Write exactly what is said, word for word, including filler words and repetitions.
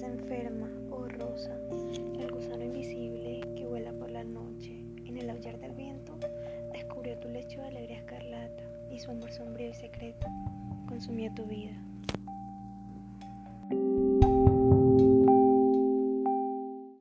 enferma, oh rosa, el gusano invisible que vuela por la noche, en el aullar del viento, descubrió tu lecho de alegría escarlata y su amor sombrío y secreto consumió tu vida.